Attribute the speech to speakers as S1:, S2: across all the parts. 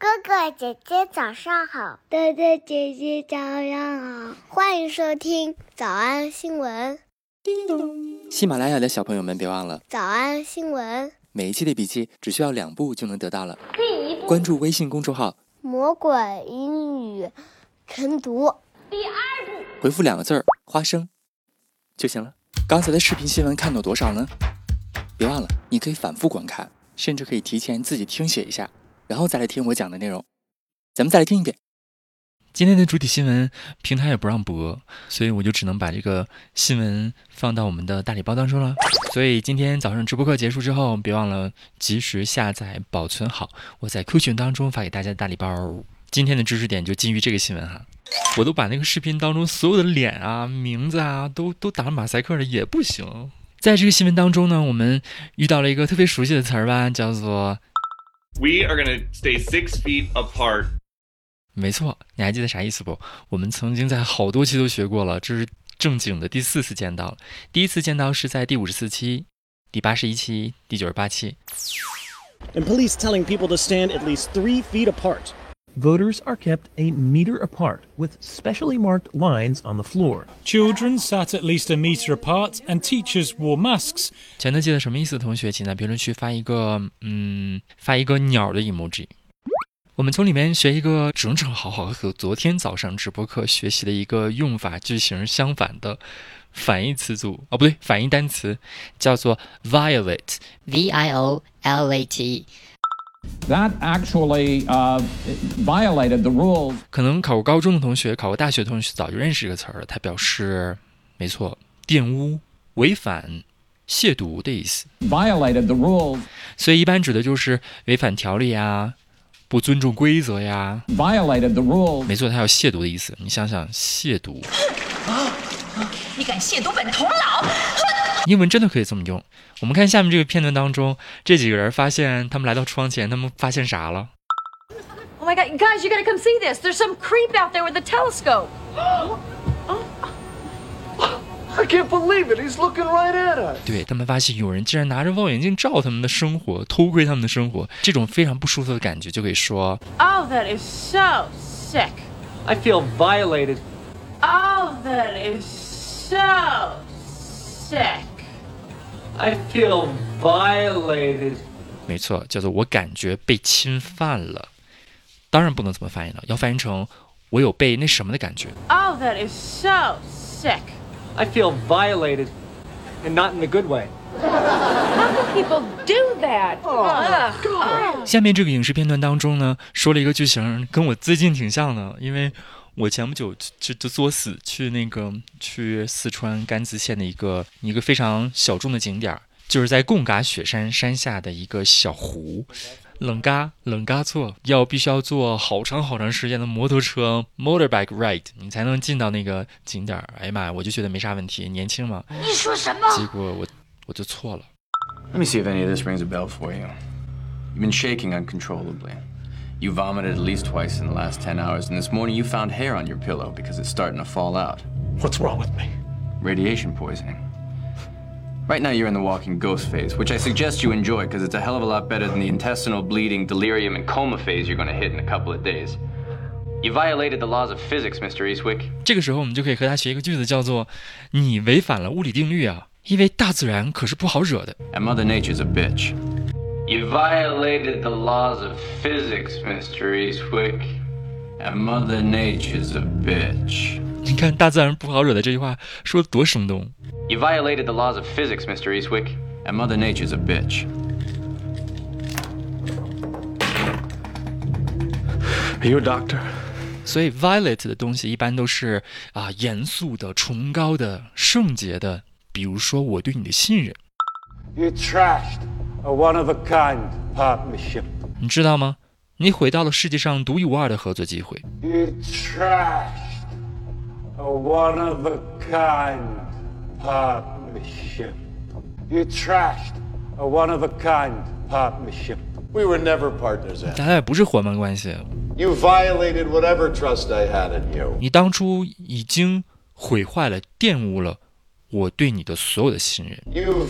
S1: 哥哥姐姐早上好，
S2: 哥哥姐姐早上好，
S1: 欢迎收听早安新闻。
S3: 叮咚！喜马拉雅的小朋友们别忘了
S1: 早安新闻，
S3: 每一期的笔记只需要2步就能得到了。第一步，关注微信公众号
S1: 魔鬼英语晨读。
S4: 第二步，
S3: 回复2个字花生就行了。刚才的视频新闻看到多少呢？别忘了你可以反复观看，甚至可以提前自己听写一下，然后再来听我讲的内容。咱们再来听一遍。今天的主体新闻平台也不让播，所以我就只能把这个新闻放到我们的大礼包当中了。所以今天早上直播课结束之后，别忘了及时下载保存好，我在 Q 群当中发给大家的大礼包。今天的知识点就基于这个新闻哈，我都把那个视频当中所有的脸啊、名字啊都打了马赛克了，也不行。在这个新闻当中呢，我们遇到了一个特别熟悉的词儿吧，叫做
S5: We are going to stay 6 feet apart。
S3: 没错，你还记得啥意思不？我们曾经在好多期都学过了，这是正经的第4次见到了。第一次见到是在第54期、第81期、第98期。
S6: And police telling people to stand at least 3 feet apart.
S7: Voters are kept a meter apart with specially marked lines on the floor.
S8: Children sat at least a meter apart and teachers wore masks.
S3: 全都记得什么意思的同学，请在评论区发一个鸟的 emoji。我们从里面学一个正好和昨天早上直播课学习的一个用法句型相反的反义词组，不对，反义单词叫做 violate，
S9: That actually violated the rules.
S3: 可能考过高中的同学、考过大学的同学早就认识这个词儿，它表示没错，玷污、违反、亵渎的意思。
S9: Violated the rules.
S3: 所以一般指的就是违反条例啊，不尊重规则呀。
S9: Violated the rules.
S3: 没错，它有亵渎的意思。你想想，亵渎。
S4: 你敢亵渎本童老！
S3: 英文真的可以这么用。我们看下面这个片段当中，这几个人发现他们来到窗前，他们发现啥了？
S4: Oh my God, guys, you gotta come see this. There's some creep out there with a telescope.
S10: I can't believe it. He's looking right at us.
S3: 对，他们发现有人竟然拿着望远镜照他们的生活，偷窥他们的生活，这種非常不舒服的感觉就可以說
S4: Oh, that is so sick.
S10: I feel violated.
S4: Oh, that is so sick.
S10: I feel violated.
S3: 没錯，叫做我感覺被侵犯了。當然不能這麼翻譯了，要翻譯成我有被那什麼的感覺。
S4: Oh, that is so sick.
S10: I feel violated, and not in a good way.
S4: How can people do that? God.
S3: 下面這個影視片段當中呢，說了一個句型，跟我最近挺像的，因為我前不久就作死去四川甘孜县的一個非常小眾的景點，就是在貢嘎雪山山下的一個小湖。冷嘎措必須要坐好長時間的摩托車 motorbike ride， 你才能進到那個景點。哎呀媽呀，我就覺得沒啥問題，年輕嘛。
S4: 你說什麼？
S3: 結果我就錯了。
S11: Let me see if any of this rings a bell for you. You've been shaking uncontrollably. You vomited at least twice in the last 10 hours, and this morning you found hair on your pillow because it's starting to fall out.
S7: What's wrong with me?
S11: Radiation poisoning. Right now you're in the walking ghost phase, which I suggest you enjoy because it's a hell of a lot better than the intestinal bleeding, delirium, and coma phase you're going to hit in a couple of days. You violated the laws of physics, Mr. Eastwick.
S3: 这个时候我们就可以和他学一个句子，叫做你违反了物理定律啊，因为大自然可是不好惹的。
S11: And Mother Nature's a bitch.
S5: You violated the laws of physics, Mr. Eastwick.
S11: And Mother Nature's a bitch.
S3: 你看大自然不好惹的这句话说得多生动。
S11: You violated the laws of physics, Mr. Eastwick. And Mother Nature's a bitch.
S10: Are you a doctor?
S3: 所以 violate 的东西一般都是严肃的、崇高的、圣洁的，比如说我对你的信任。
S12: You trashed a one-of-a-kind partnership.
S3: 你知道吗？你毁掉了世界上独一无二的合作机会。
S12: You trashed a one-of-a-kind partnership. You trashed a one-of-a-kind partnership.
S10: We were never partners, Ed.
S3: 咱俩也不是伙伴关系。
S10: You violated whatever trust I had in you.
S3: 你当初已经毁坏了、玷污了我对你的所有的信任。
S10: You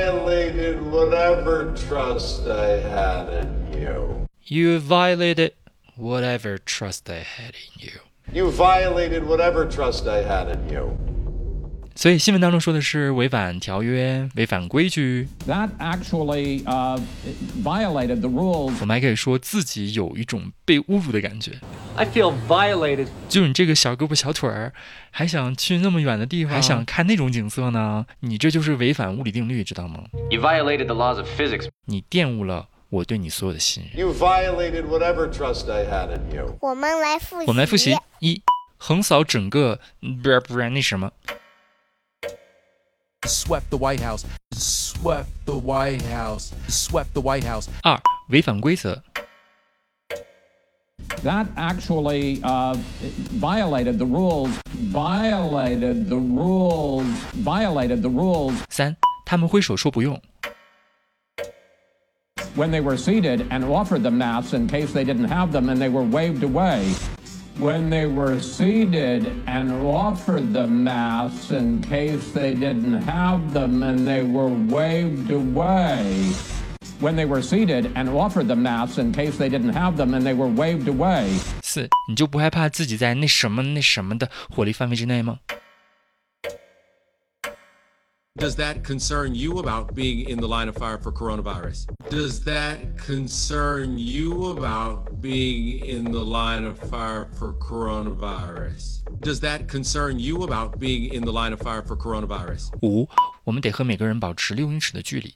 S10: violated whatever trust I had in you.
S3: You violated whatever trust I had in you.
S13: You violated whatever trust I had in you.
S3: 所以新闻当中说的是违反条约、违反规矩。
S9: That actually violated the rules.
S3: 我们还可以说自己有一种被侮辱的感觉。
S10: I feel violated.
S3: 就你这个小胳膊小腿儿，还想去那么远的地方，还想看那种景色呢？你这就是违反物理定律，知道吗？
S11: You violated the laws of physics.
S3: 你玷污了我对你所有的信任。
S13: You violated whatever trust I had in you.
S1: 我们来复习。
S3: 一，横扫整个那什么。
S14: Swept the White House. Swept the White House. Swept the White House.
S3: 二，违反规则。
S9: That actually violated the rules. Violated the rules. Violated the rules.
S3: 三，他们挥手说不用。
S9: When they were seated and offered them masks in case they didn't have them, and they were waved away. When they were seated and offered them masks in case they didn't have them, and they were waved away. When they were seated and offered them masks in case they didn't have them, and they were waved away.
S3: 四，你就不害怕自己在那什么的火力范围之内吗？
S14: Does that concern you about being in the line of fire for coronavirus? Does that concern you about being in the line of fire for coronavirus? Does that concern you about being in the line of fire for coronavirus?
S3: 五，我们得和每个人保持6英尺的距离。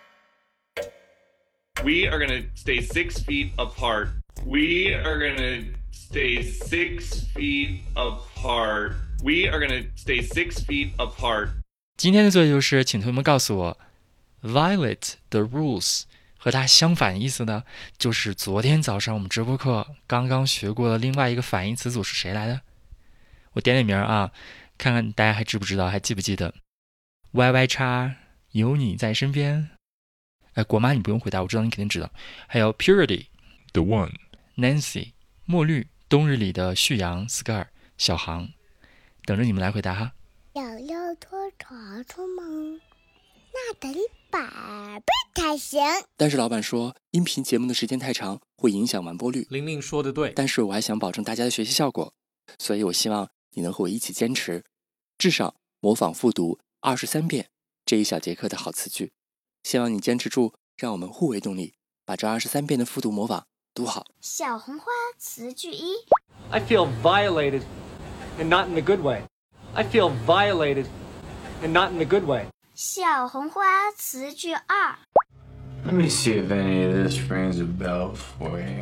S15: We are going to stay 6 feet apart. We are going to stay 6 feet apart. We are going to stay 6 feet apart.
S3: 今天的作业就是，请同学们告诉我 ，violate the rules 和它相反意思的，就是昨天早上我们直播课刚刚学过的另外一个反义词组是谁来的？我点点名啊，看看大家还知不知道，还记不记得 ？YY 叉有你在身边。国妈你不用回答，我知道你肯定知道。还有 Purity
S16: The One
S3: Nancy 墨绿冬日里的旭阳 Scar 小航，等着你们来回答哈。
S1: 想要脱床出吗？那得100倍才行。
S3: 但是老板说，音频节目的时间太长，会影响完播率。
S10: 玲玲说的对，
S3: 但是我还想保证大家的学习效果，所以我希望你能和我一起坚持，至少模仿复读23遍这一小节课的好词句。希望你坚持住，让我们互为动力，把这23遍的复读模仿读好。
S1: 小红花词句1
S10: I feel violated, and not in a good way. I feel violated, and not in a good way.
S1: 小红花词句2
S5: Let me see if any of this rings a bell for you.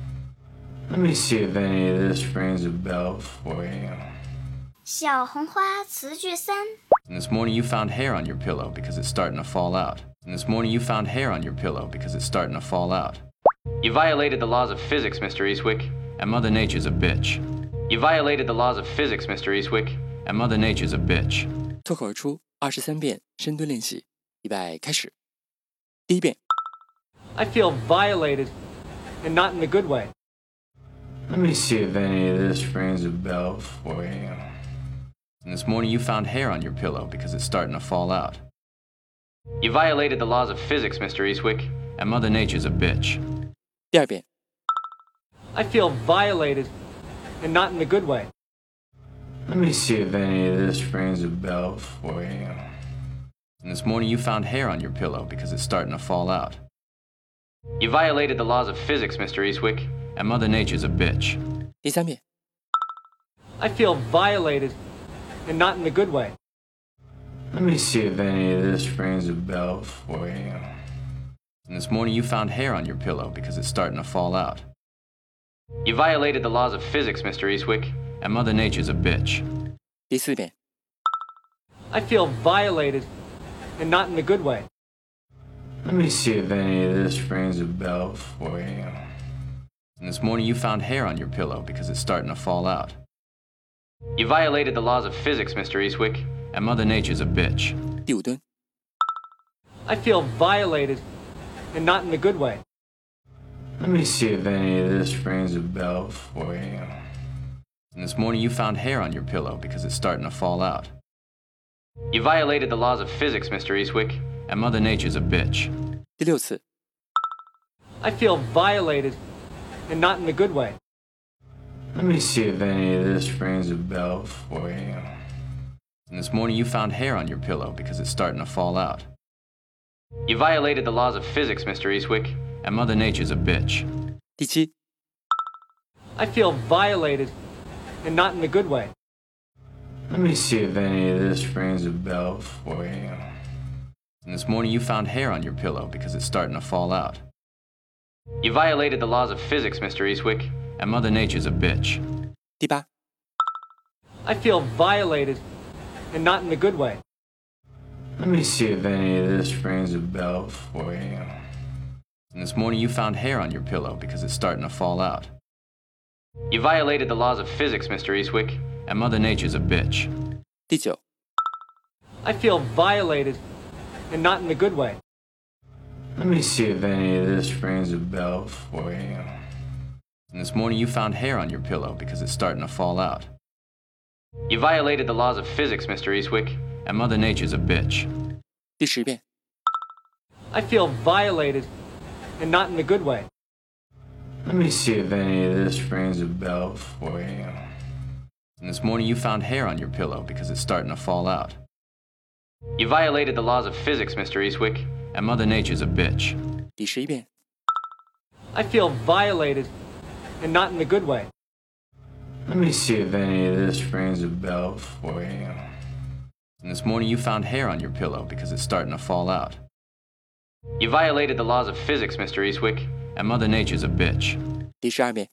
S5: Let me see if any of this rings a bell for you.
S1: 小红花词句3
S11: And this morning you found hair on your pillow because it's starting to fall out. And this morning you found hair on your pillow because it's starting to fall out. You violated the laws of physics, Mr. Eastwick, and Mother Nature's a bitch. You violated the laws of physics, Mr. Eastwick, and Mother Nature's a bitch.
S3: 脱口而出23遍深蹲练习，预备开始。第一遍
S10: I feel violated, and not in a good way.
S5: Let me see if any of this rings a bell for you.
S11: And this morning you found hair on your pillow because it's starting to fall out. You violated the laws of physics, Mr. Eastwick, and Mother Nature's a bitch.
S3: 第二遍
S10: I feel violated, and not in a good way.
S5: Let me see if any of this rings a bell for you.
S11: And this morning you found hair on your pillow because it's starting to fall out. You violated the laws of physics, Mr. Eastwick, and Mother Nature's a bitch.
S3: 第三遍
S10: I feel violated, and not in a good way.
S5: Let me see if any of this rings a bell for you.
S11: And this morning you found hair on your pillow because it's starting to fall out. You violated the laws of physics, Mr. Eastwick, and Mother Nature's a bitch.
S3: 第四遍
S10: I feel violated, and not in a good way.
S5: Let me see if any of this rings a bell for you.
S11: And this morning you found hair on your pillow because it's starting to fall out. You violated the laws of physics, Mr. Eastwick, and Mother Nature's a bitch.
S3: 第五蹲
S10: I feel violated, and not in a good way.
S5: Let me see if any of this rings a bell for you.
S11: And this morning you found hair on your pillow because it's starting to fall out. You violated the laws of physics, Mr. Eastwick, and Mother Nature's a bitch.
S3: 第六次
S10: I feel violated, and not in the good way.
S5: Let me see if any of this rings a bell for you.
S11: And this morning you found hair on your pillow because it's starting to fall out. You violated the laws of physics, Mr. Eastwick, and Mother Nature's a bitch.
S3: 第7，
S10: I feel violated, and not in the good way.
S5: Let me see if any of this rings a bell for you.
S11: And this morning you found hair on your pillow because it's starting to fall out. You violated the laws of physics, Mr. Eastwick, and Mother Nature's a bitch.
S3: 第8，
S10: I feel violated, and not in the good way.
S5: Let me see if any of this rings a bell for you.
S11: And this morning you found hair on your pillow because it's starting to fall out. You violated the laws of physics, Mr. Eastwick, and Mother Nature's a bitch.
S3: 第9，
S10: I feel violated, and not in the good way.
S5: Let me see if any of this rings a bell for you.
S11: And this morning you found hair on your pillow because it's starting to fall out. You violated the laws of physics, Mr. Eastwick, and Mother Nature's a bitch.
S3: 第10遍，
S10: I feel violated, and not in the good way.
S5: Let me see if any of this rings a bell for you.
S11: And this morning you found hair on your pillow because it's starting to fall out. You violated the laws of physics, Mr. Eastwick, and Mother Nature's a bitch.
S3: 第11遍，
S10: I feel violated, and not in the good way.
S5: Let me see if any of this rings a bell for you.
S11: And this morning you found hair on your pillow because it's starting to fall out. You violated the laws of physics, Mr. Eastwick, and Mother Nature's a bitch.
S3: 第12遍，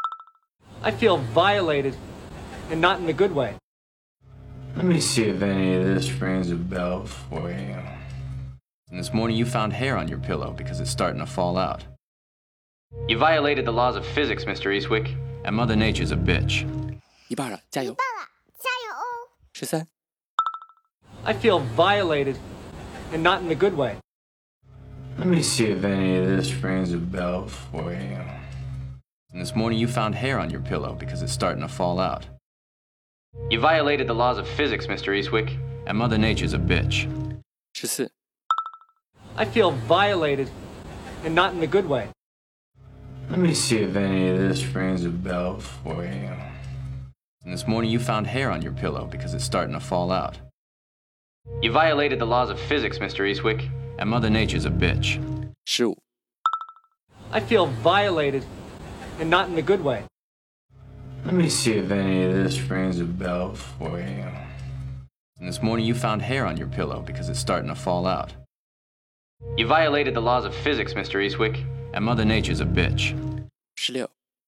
S10: I feel violated, and not in the good way.
S5: Let me see if any of this rings a bell for you.
S11: And this morning you found hair on your pillow because it's starting to fall out. You violated the laws of physics, Mr. Eastwick, and Mother Nature's a bitch.
S3: 一半了，加油！
S1: 加油哦！
S3: 13，
S10: I feel violated, and not in the good way.
S5: Let me see if any of this rings a bell for you.
S11: And this morning you found hair on your pillow because it's starting to fall out. You violated the laws of physics, Mr. Eastwick, and Mother Nature's a bitch.
S3: 14，
S10: I feel violated, and not in the good way.
S5: Let me see if any of this rings a bell for you.
S11: And this morning you found hair on your pillow because it's starting to fall out. You violated the laws of physics, Mr. Eastwick, and Mother Nature's a bitch.
S3: 15，
S10: I feel violated, and not in the good way.
S5: Let me see if any of this rings a bell for you.
S11: And this morning you found hair on your pillow because it's starting to fall out. You violated the laws of physics, Mr. Eastwick, and Mother Nature's a bitch.
S3: 16，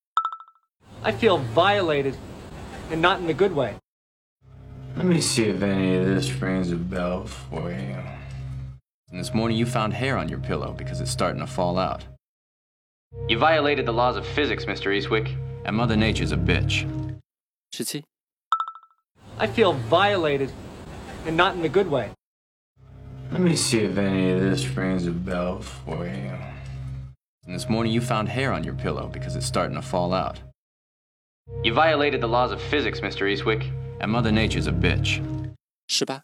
S10: I feel violated, and not in the good way.
S5: Let me see if any of this rings a bell for you.
S11: And this morning you found hair on your pillow because it's starting to fall out. You violated the laws of physics, Mr. Eastwick, and Mother Nature's a bitch.
S3: 17，
S10: I feel violated, and not in the good way.
S5: Let me see if any of this rings a bell for you.
S11: And this morning you found hair on your pillow because it's starting to fall out. You violated the laws of physics, Mr. Eastwick, and Mother Nature's a bitch.
S3: 18，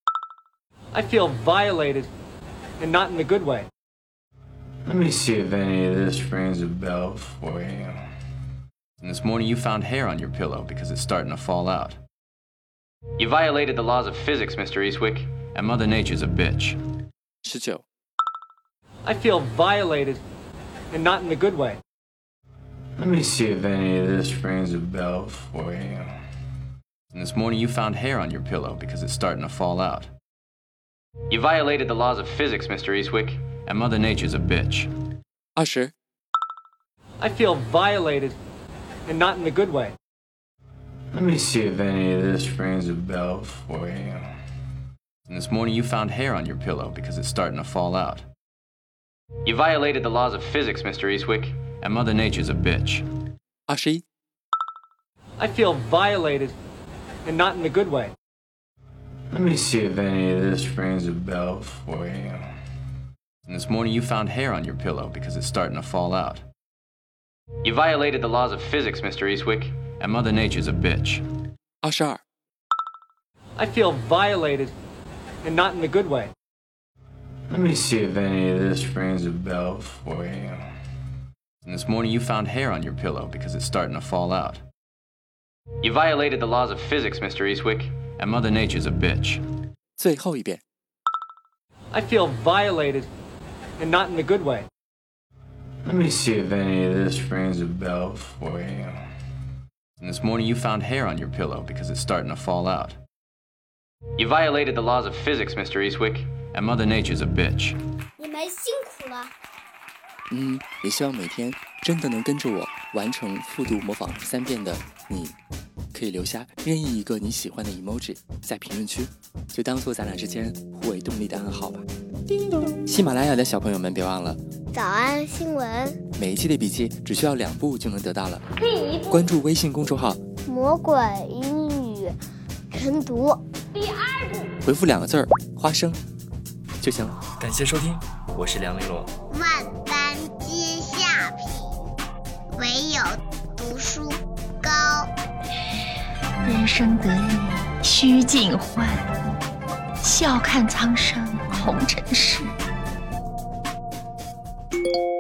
S10: I feel violated, and not in the good way.
S5: Let me see if any of this rings a bell for you.
S11: And this morning you found hair on your pillow because it's starting to fall out. You violated the laws of physics, Mr. Eastwick, and Mother Nature's a bitch.
S3: 19，
S10: I feel violated, and not in the good way.
S5: Let me see if any of this rings a bell for you.
S11: And this morning you found hair on your pillow because it's starting to fall out. You violated the laws of physics, Mr. Eastwick, and Mother Nature's a bitch.
S3: 20，
S10: I feel violated, and not in the good way.
S5: Let me see if any of this rings a bell for you.
S11: And this morning you found hair on your pillow because it's starting to fall out. You violated the laws of physics, Mr. Eastwick, and Mother Nature's a bitch.
S3: 21，
S10: I feel violated, and not in the good way.
S5: Let me see if any of this rings a bell for you.
S11: And this morning you found hair on your pillow because it's starting to fall out. You violated the laws of physics, Mr. Eastwick, and Mother Nature's a bitch.
S3: 22，
S10: I feel violated, and not in the good way.
S5: Let me see if any of this rings a bell for you.
S11: And this morning you found hair on your pillow because it's starting to fall out. You violated the laws of physics, Mr. Eastwick, and Mother Nature's a bitch.
S3: 最后一遍。
S10: I feel violated, and not in a good way.
S5: Let me see if any of this rings a bell for you.
S11: And this morning you found hair on your pillow because it's starting to fall out. You violated the laws of physics, Mr. Eastwick, and Mother Nature's a bitch.
S1: 你们辛苦了。
S3: 也希望每天真的能跟着我完成复读模仿3遍的你，可以留下任意一个你喜欢的 emoji 在评论区，就当做咱俩之间互为动力的暗号吧。叮咚！喜马拉雅的小朋友们别忘了
S1: 早安新闻，
S3: 每一期的笔记只需要2步就能得到了。关注微信公众号
S1: 魔鬼英语晨读。第2步，
S3: 回复2个字花生就行了。感谢收听，我是梁玲珑。
S1: 万般皆下品，唯有读书高。
S16: 人生得意须尽欢，笑看苍生红尘事。